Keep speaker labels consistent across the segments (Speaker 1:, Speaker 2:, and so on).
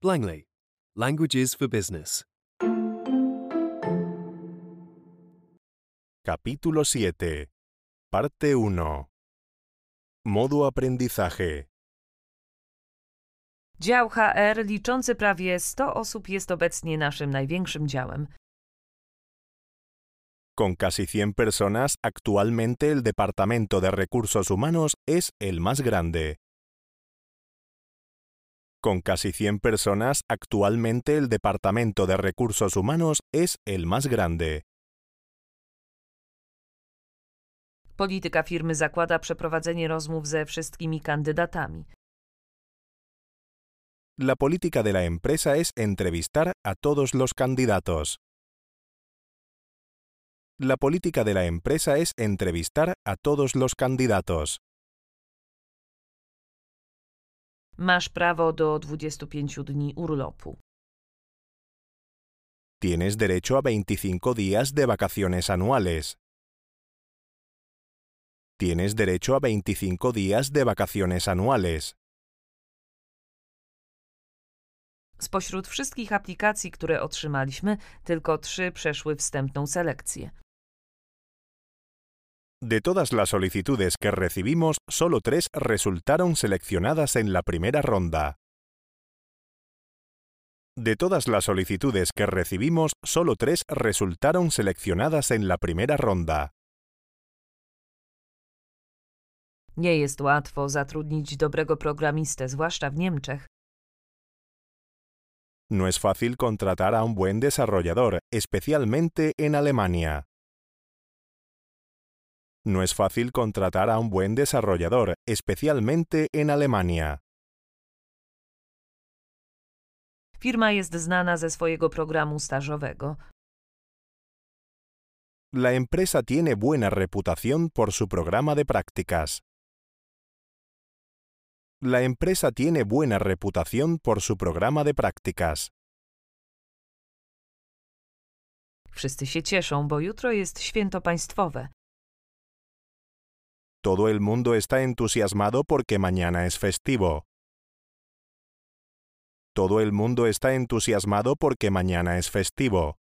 Speaker 1: Langley. Languages for Business.
Speaker 2: Capítulo 7. Parte 1. Modo aprendizaje.
Speaker 3: Dział HR liczący prawie 100 osób jest obecnie naszym największym działem.
Speaker 2: Con casi 100 personas, actualmente el Departamento de Recursos Humanos es el más grande. Con casi 100 personas, actualmente el Departamento de Recursos Humanos es el más grande.
Speaker 3: Polityka firmy zakłada przeprowadzenie rozmów ze wszystkimi kandydatami.
Speaker 2: La política de la empresa es entrevistar a todos los candidatos. La política de la empresa es entrevistar a todos los candidatos.
Speaker 3: Masz prawo do 25 dni urlopu.
Speaker 2: Tienes derecho a 25 días de vacaciones anuales. Tienes derecho a 25 días de vacaciones anuales.
Speaker 3: Spośród wszystkich aplikacji, które otrzymaliśmy, tylko 3 przeszły wstępną selekcję.
Speaker 2: De todas las solicitudes que recibimos, solo 3 resultaron seleccionadas en la primera ronda. De todas las solicitudes que recibimos, solo 3 resultaron seleccionadas en la primera ronda.
Speaker 3: Nie jest łatwo zatrudnić dobrego programistę, zwłaszcza w Niemczech.
Speaker 2: No es fácil contratar a un buen desarrollador, especialmente en Alemania. No es fácil contratar a un buen desarrollador, especialmente en Alemania.
Speaker 3: Firma jest znana ze swojego programu stażowego.
Speaker 2: La empresa tiene buena reputación por su programa de prácticas. La empresa tiene buena reputación por su programa de prácticas.
Speaker 3: Wszyscy się cieszą, bo jutro jest święto państwowe.
Speaker 2: Todo el mundo está entusiasmado porque mañana es festivo. Todo el mundo está entusiasmado porque mañana es festivo.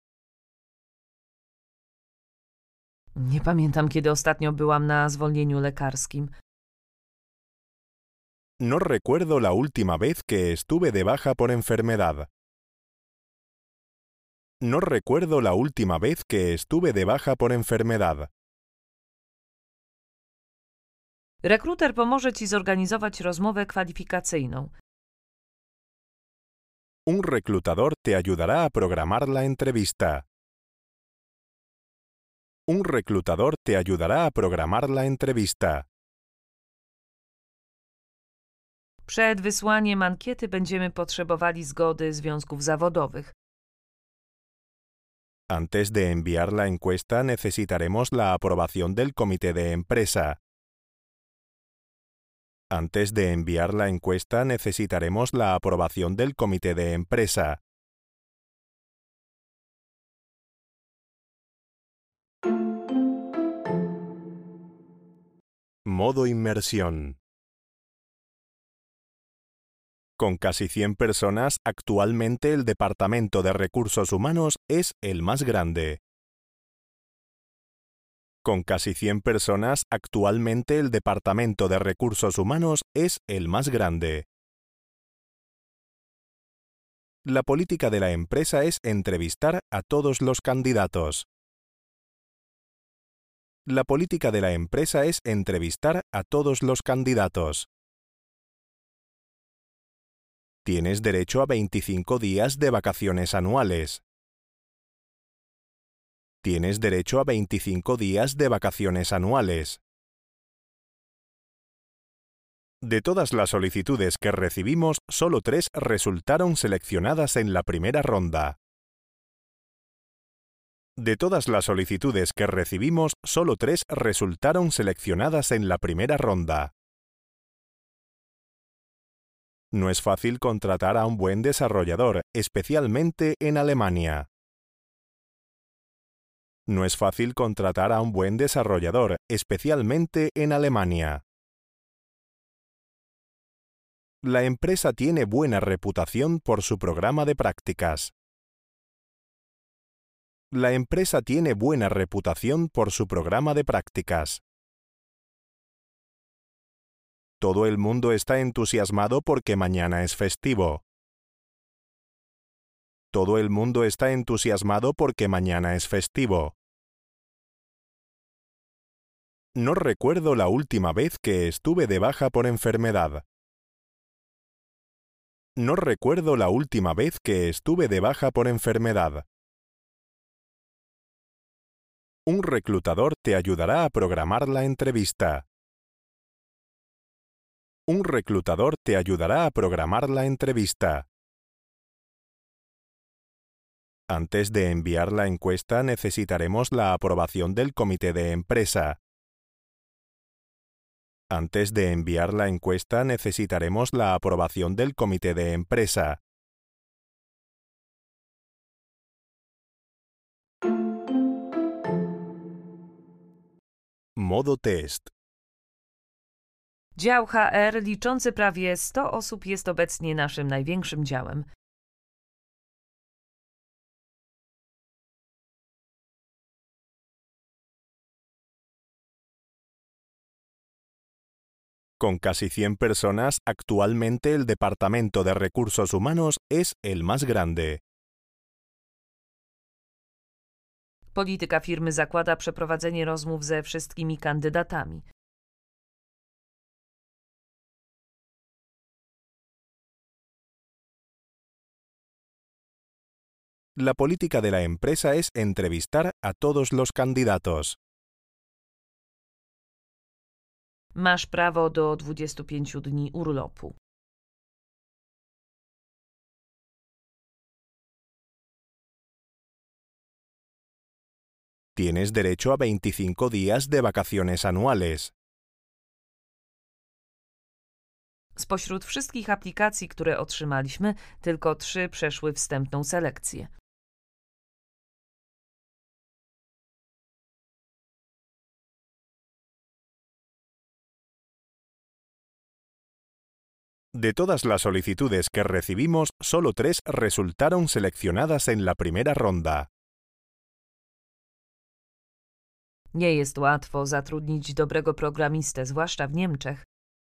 Speaker 3: Nie pamiętam, kiedy ostatnio byłam na zwolnieniu lekarskim.
Speaker 2: No recuerdo la última vez que estuve de baja por enfermedad. No recuerdo la última vez que estuve de baja por enfermedad.
Speaker 3: Rekruter pomoże Ci zorganizować rozmowę kwalifikacyjną.
Speaker 2: Un reclutador te ayudará a programar la entrevista. Un reclutador te ayudará a programar la entrevista.
Speaker 3: Przed wysłaniem ankiety będziemy potrzebowali zgody związków zawodowych.
Speaker 2: Antes de enviar la encuesta necesitaremos la aprobación del comité de empresa. Antes de enviar la encuesta necesitaremos la aprobación del comité de empresa. Modo inmersión. Con casi 100 personas, actualmente el Departamento de Recursos Humanos es el más grande. Con casi 100 personas, actualmente el Departamento de Recursos Humanos es el más grande. La política de la empresa es entrevistar a todos los candidatos. La política de la empresa es entrevistar a todos los candidatos. Tienes derecho a 25 días de vacaciones anuales. Tienes derecho a 25 días de vacaciones anuales. De todas las solicitudes que recibimos, solo 3 resultaron seleccionadas en la primera ronda. De todas las solicitudes que recibimos, solo 3 resultaron seleccionadas en la primera ronda. No es fácil contratar a un buen desarrollador, especialmente en Alemania. No es fácil contratar a un buen desarrollador, especialmente en Alemania. La empresa tiene buena reputación por su programa de prácticas. La empresa tiene buena reputación por su programa de prácticas. Todo el mundo está entusiasmado porque mañana es festivo. Todo el mundo está entusiasmado porque mañana es festivo. No recuerdo la última vez que estuve de baja por enfermedad. No recuerdo la última vez que estuve de baja por enfermedad. Un reclutador te ayudará a programar la entrevista. Un reclutador te ayudará a programar la entrevista. Antes de enviar la encuesta necesitaremos la aprobación del comité de empresa. Antes de enviar la encuesta necesitaremos la aprobación del comité de empresa. Modo test.
Speaker 3: Dział HR liczący prawie 100 osób jest obecnie naszym największym działem.
Speaker 2: Con casi 100 personas, actualmente el Departamento de Recursos Humanos es el más grande.
Speaker 3: Polityka firmy zakłada przeprowadzenie rozmów ze wszystkimi kandydatami.
Speaker 2: La política de la empresa es entrevistar a todos los candidatos.
Speaker 3: Masz prawo do 25 dni urlopu.
Speaker 2: Tienes derecho a 25 días de vacaciones anuales.
Speaker 3: Spośród wszystkich aplikacji, które otrzymaliśmy, tylko 3 przeszły wstępną selekcję.
Speaker 2: De todas las solicitudes que recibimos, solo 3 resultaron seleccionadas en la primera ronda.
Speaker 3: Nie jest łatwo zatrudnić dobrego programistę, zwłaszcza w Niemczech.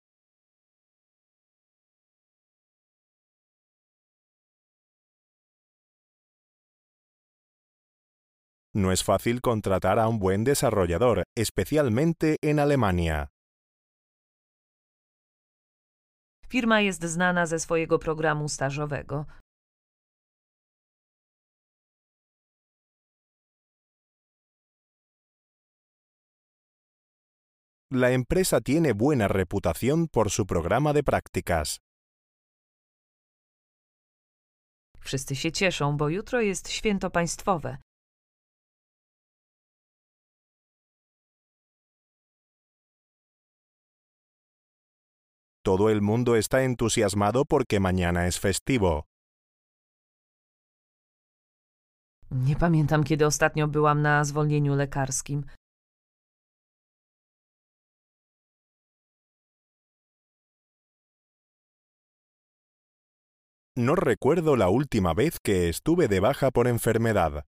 Speaker 2: No es fácil contratar a un buen desarrollador, especialmente en Alemania.
Speaker 3: Firma jest znana ze swojego programu stażowego.
Speaker 2: La empresa tiene buena reputación por su programa de prácticas.
Speaker 3: Wszyscy się cieszą, bo jutro jest święto państwowe.
Speaker 2: Todo el mundo está entusiasmado porque mañana es festivo.
Speaker 3: Nie pamiętam, kiedy ostatnio byłam na zwolnieniu lekarskim.
Speaker 2: No recuerdo la última vez que estuve de baja por enfermedad.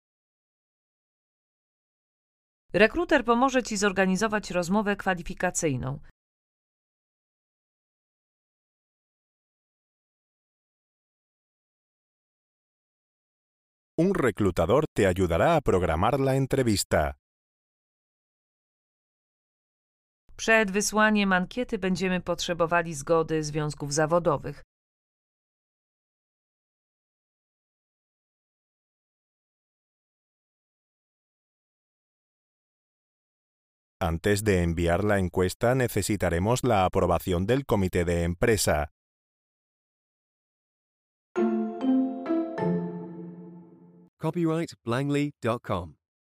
Speaker 3: Rekruter pomoże Ci zorganizować rozmowę kwalifikacyjną.
Speaker 2: Un reclutador te ayudará a programar la entrevista.
Speaker 3: Przed wysłaniem ankiety będziemy potrzebowali zgody związków zawodowych.
Speaker 2: Antes de enviar la encuesta necesitaremos la aprobación del comité de empresa.
Speaker 1: Copyright Langley.com.